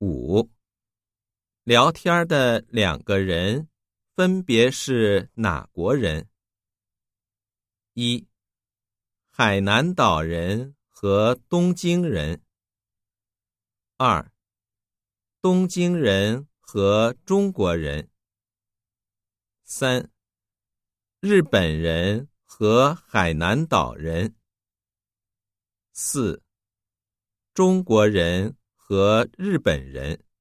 5. 聊天的2个人分别是哪国人？1. 海南岛人和东京人。2. 东京人和中国人。3. 日本人和海南岛人。4. 中国人和日本人。